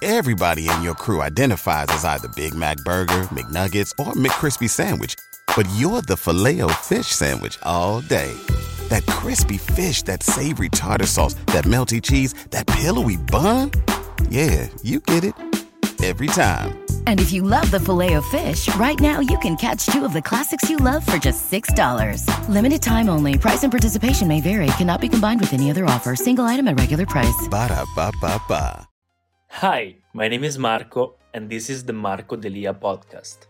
Everybody in your crew identifies as either Big Mac Burger, McNuggets, or McCrispy Sandwich. But you're the Filet-O-Fish Sandwich all day. That crispy fish, that savory tartar sauce, that melty cheese, that pillowy bun. Yeah, you get it. Every time. And if you love the Filet-O-Fish, right now you can catch two of the classics you love for just $6. Limited time only. Price and participation may vary. Cannot be combined with any other offer. Single item at regular price. Ba-da-ba-ba-ba. Hi, my name is Marco, and this is the Marco Delia podcast.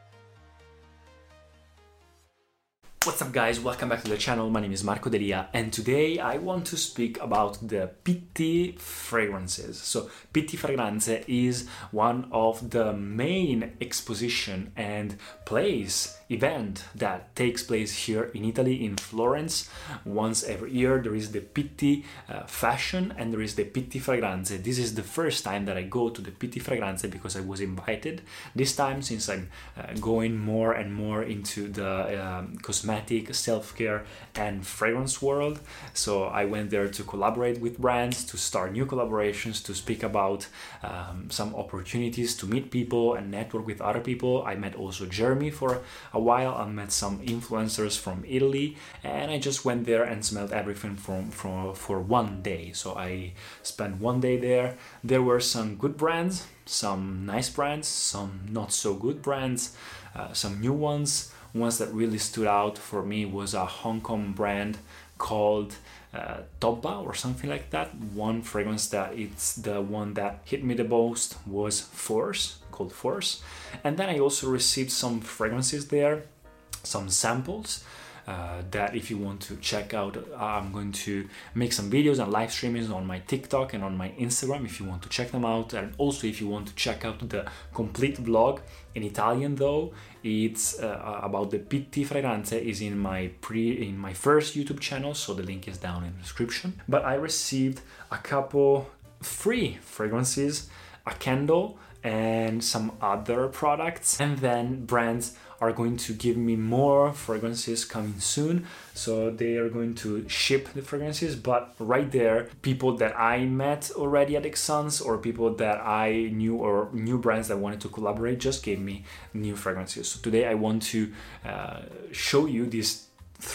What's up guys, welcome back to the channel. My name is Marco Delia, and today I want to speak about the Pitti fragrances. So Pitti Fragranze is one of the main exposition and place event that takes place here in Italy, in Florence. Once every year there is the Pitti fashion and there is the Pitti Fragranze. This is the first time that I go to the Pitti Fragranze because I was invited. This time, since I'm going more and more into the cosmetic, self-care and fragrance world, so I went there to collaborate with brands, to start new collaborations, to speak about some opportunities to meet people and network with other people. I met also Jeremy for a while. I met some influencers from Italy, and I just went there and smelled everything for one day. So I spent one day there. There were some good brands, some nice brands, some not so good brands, some new ones. Ones that really stood out for me was a Hong Kong brand called Tobba or something like that. One fragrance that it's the one that hit me the most was Force, called Force. And then I also received some fragrances there, some samples that if you want to check out, I'm going to make some videos and live streamings on my TikTok and on my Instagram if you want to check them out. And also if you want to check out the complete vlog in Italian, though, it's about the Pitti Fragranze, is in my first YouTube channel, so the link is down in the description. But I received a couple free fragrances, a candle, and some other products, and then brands are going to give me more fragrances coming soon. So they are going to ship the fragrances, but right there, people that I met already at Exans or people that I knew or new brands that wanted to collaborate just gave me new fragrances. So today I want to show you these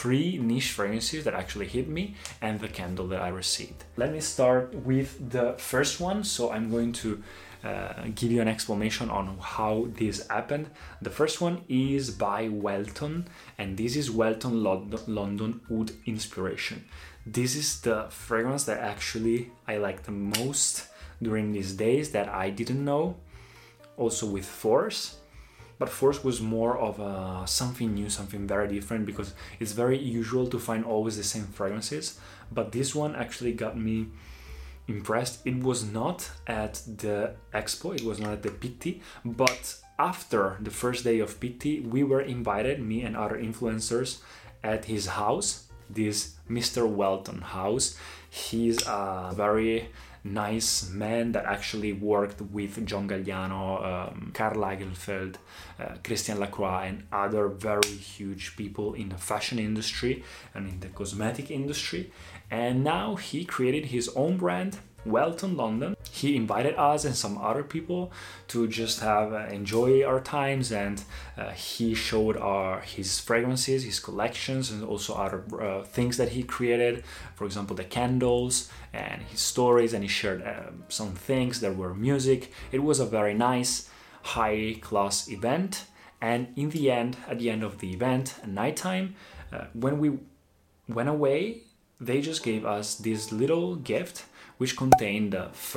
3 niche fragrances that actually hit me and the candle that I received. Let me start with the first one. So I'm going to give you an explanation on how this happened. The first one is by Welton, and this is Welton London Oud Inspiration. This is the fragrance that actually I like the most during these days that I didn't know. Also with Force, but Force was more of something new, something very different, because it's very usual to find always the same fragrances, but this one actually got me impressed. It was not at the expo, it was not at the Pitti, but after the first day of Pitti, we were invited, me and other influencers, at his house, this Mr. Welton house. He's a very nice man that actually worked with John Galliano, Karl Lagerfeld, Christian Lacroix, and other very huge people in the fashion industry and in the cosmetic industry. And now he created his own brand, Welton London. He invited us and some other people to just have enjoy our times, and he showed his fragrances, his collections, and also other things that he created. For example, the candles and his stories, and he shared some things that were music. It was a very nice, high-class event. And in the end, at the end of the event, at nighttime, when we went away, they just gave us this little gift which contained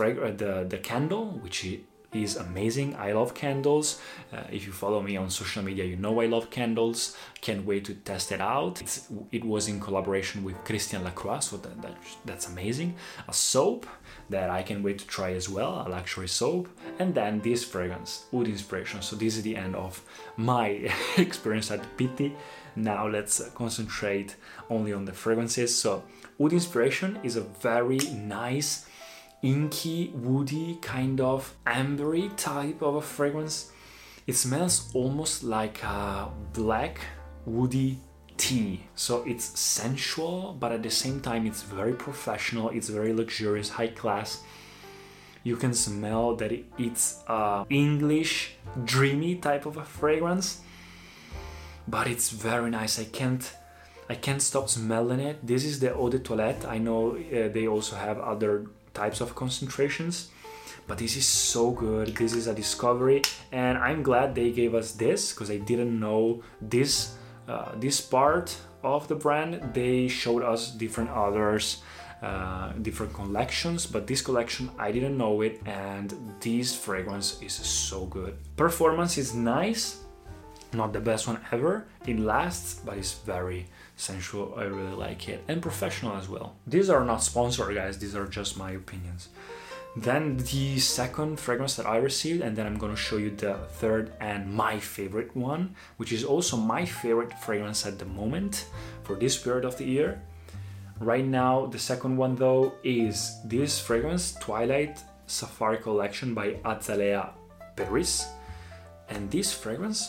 the candle, which is amazing. I love candles. If you follow me on social media, you know I love candles. Can't wait to test it out. It was in collaboration with Christian Lacroix, so that's amazing. A soap that I can wait to try as well, a luxury soap. And then this fragrance, Oud Inspiration. So this is the end of my experience at Pitti. Now let's concentrate only on the fragrances. So Oud Inspiration is a very nice, inky, woody, kind of ambery type of a fragrance. It smells almost like a black, woody tea. So it's sensual, but at the same time it's very professional, it's very luxurious, high class. You can smell that it's a English dreamy type of a fragrance, but it's very nice. I can't stop smelling it. This is the Eau de Toilette. I know they also have other types of concentrations, but this is so good. This is a discovery, and I'm glad they gave us this, because I didn't know this part of the brand. They showed us different others, different collections, but this collection I didn't know it, and this fragrance is so good. Performance is nice, not the best one ever. It lasts, but it's very sensual. I really like it, and professional as well. These are not sponsored, guys, these are just my opinions. Then the second fragrance that I received, and then I'm gonna show you the third and my favorite one, which is also my favorite fragrance at the moment for this period of the year. Right now, the second one though is this fragrance, Twilight Safari Collection by Azalea Paris. And this fragrance,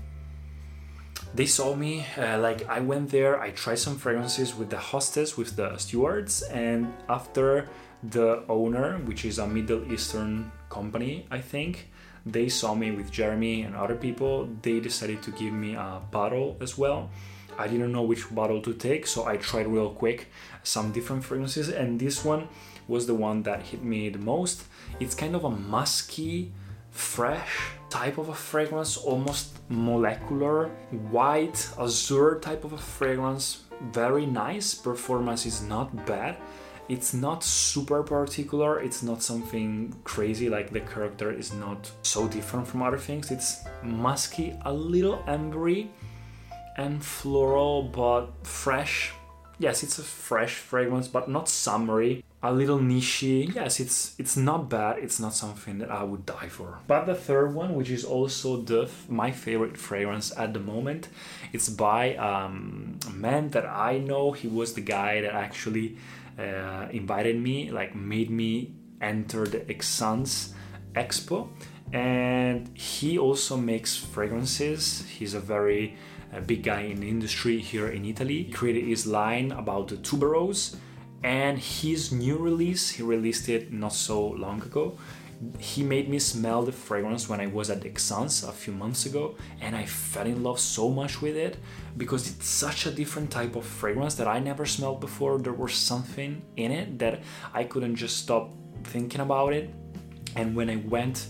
they saw me, I went there, I tried some fragrances with the hostess, with the stewards, and after the owner, which is a Middle Eastern company, I think, they saw me with Jeremy and other people. They decided to give me a bottle as well. I didn't know which bottle to take, so I tried real quick some different fragrances, and this one was the one that hit me the most. It's kind of a musky, fresh type of a fragrance, almost molecular, white, azure type of a fragrance. Very nice. Performance is not bad. It's not super particular, it's not something crazy, like the character is not so different from other things. It's musky, a little ambery and floral, but fresh. Yes, it's a fresh fragrance, but not summery. A little nichey. Yes, it's not bad. It's not something that I would die for. But the third one, which is also my favorite fragrance at the moment, it's by a man that I know. He was the guy that actually invited me, made me enter the Exans Expo, and he also makes fragrances. He's a very big guy in the industry here in Italy. He created his line about the tuberose, and his new release, he released it not so long ago. He made me smell the fragrance when I was at Exans a few months ago, and I fell in love so much with it because it's such a different type of fragrance that I never smelled before. There was something in it that I couldn't just stop thinking about it. And when I went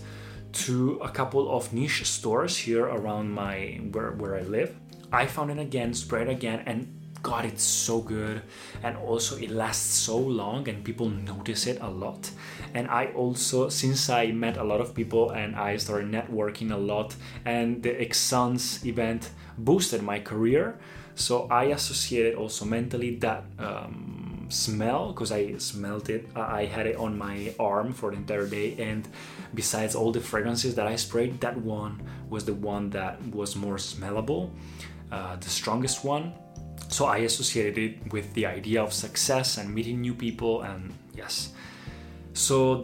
to a couple of niche stores here around where I live, I found it again, sprayed again, and God, it's so good. And also it lasts so long and people notice it a lot. And I also, since I met a lot of people and I started networking a lot, and the Exans event boosted my career, so I associated also mentally that smell, because I smelled it. I had it on my arm for the entire day, and besides all the fragrances that I sprayed, that one was the one that was more smellable, the strongest one. So I associated it with the idea of success and meeting new people, and yes. So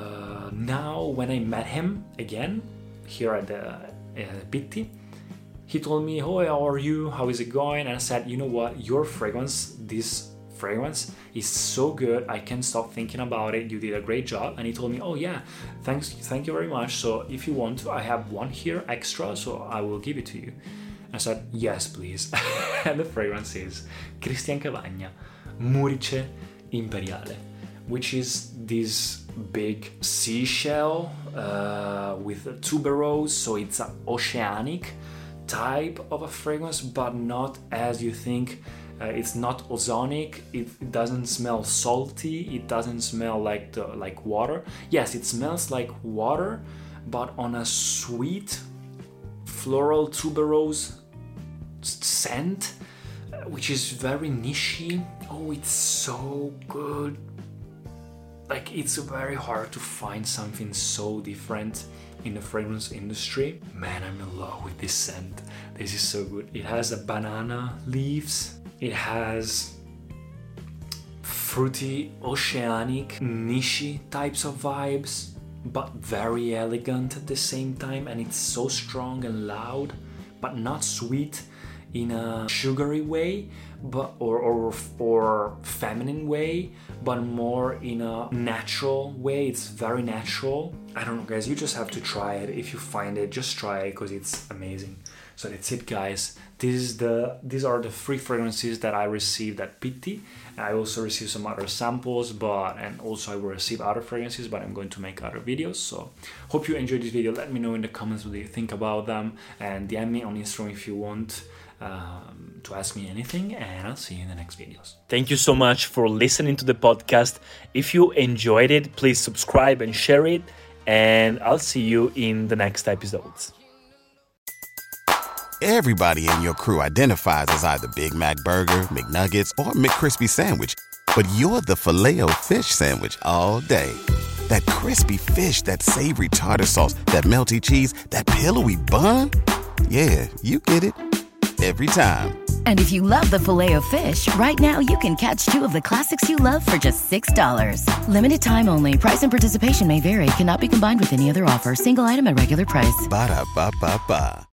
now when I met him again here at the Pitti, he told me, "Oh, how are you? How is it going?" And I said, "You know what? Your fragrance, this fragrance is so good. I can't stop thinking about it. You did a great job." And he told me, "Oh yeah, thank you very much. So if you want to, I have one here extra, so I will give it to you." I said, "Yes, please." And the fragrance is Christian Cavagna Murice Imperiale, which is this big seashell with a tuberose, so it's an oceanic type of a fragrance, but not as you think. It's not ozonic. It doesn't smell salty. It doesn't smell like water. Yes, it smells like water, but on a sweet floral tuberose scent, which is very nichey. Oh, it's so good. It's very hard to find something so different in the fragrance industry. Man, I'm in love with this scent. This is so good. It has a banana leaves. It has fruity, oceanic, nichey types of vibes, but very elegant at the same time. And it's so strong and loud, but not sweet. in a sugary way, but or feminine way, but more in a natural way. It's very natural. I don't know, guys, you just have to try it. If you find it, just try it because it's amazing. So that's it, guys. These are the 3 fragrances that I received at Pitti. I also received some other samples, and also I will receive other fragrances, but I'm going to make other videos. So hope you enjoyed this video. Let me know in the comments what you think about them, and DM me on Instagram if you want to ask me anything, and I'll see you in the next videos. Thank you so much for listening to the podcast. If you enjoyed it, please subscribe and share it, and I'll see you in the next episodes. Everybody in your crew identifies as either Big Mac Burger, McNuggets, or McCrispy Sandwich. But you're the Filet-O-Fish Sandwich all day. That crispy fish, that savory tartar sauce, that melty cheese, that pillowy bun. Yeah, you get it. Every time. And if you love the Filet-O-Fish, right now you can catch 2 of the classics you love for just $6. Limited time only. Price and participation may vary. Cannot be combined with any other offer. Single item at regular price. Ba-da-ba-ba-ba.